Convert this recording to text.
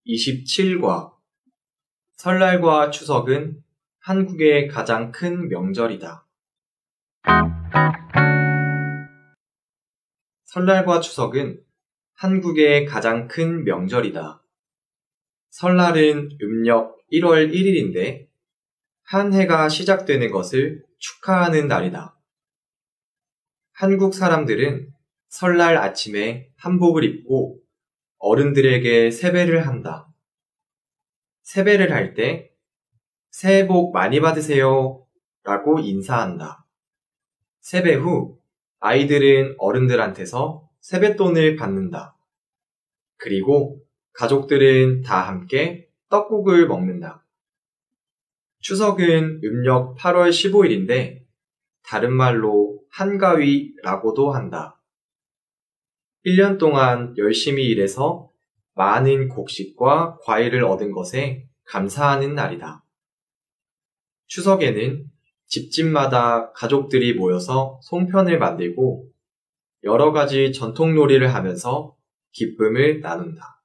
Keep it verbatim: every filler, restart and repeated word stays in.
이십칠 과 설날과 추석은 한국의 가장 큰 명절이다. 설날과 추석은 한국의 가장 큰 명절이다. 설날은 음력 일월 일일인데 한 해가 시작되는 것을 축하하는 날이다. 한국 사람들은 설날 아침에 한복을 입고 어른들에게 세배를 한다. 세배를 할 때 새해 복 많이 받으세요 라고 인사한다. 세배 후 아이들은 어른들한테서 세뱃돈을 받는다. 그리고 가족들은 다 함께 떡국을 먹는다. 추석은 음력 팔월 십오일인데 다른 말로 한가위라고도 한다. 일 년 동안 열심히 일해서 많은 곡식과 과일을 얻은 것에 감사하는 날이다. 추석에는 집집마다 가족들이 모여서 송편을 만들고 여러 가지 전통 놀이를 하면서 기쁨을 나눈다.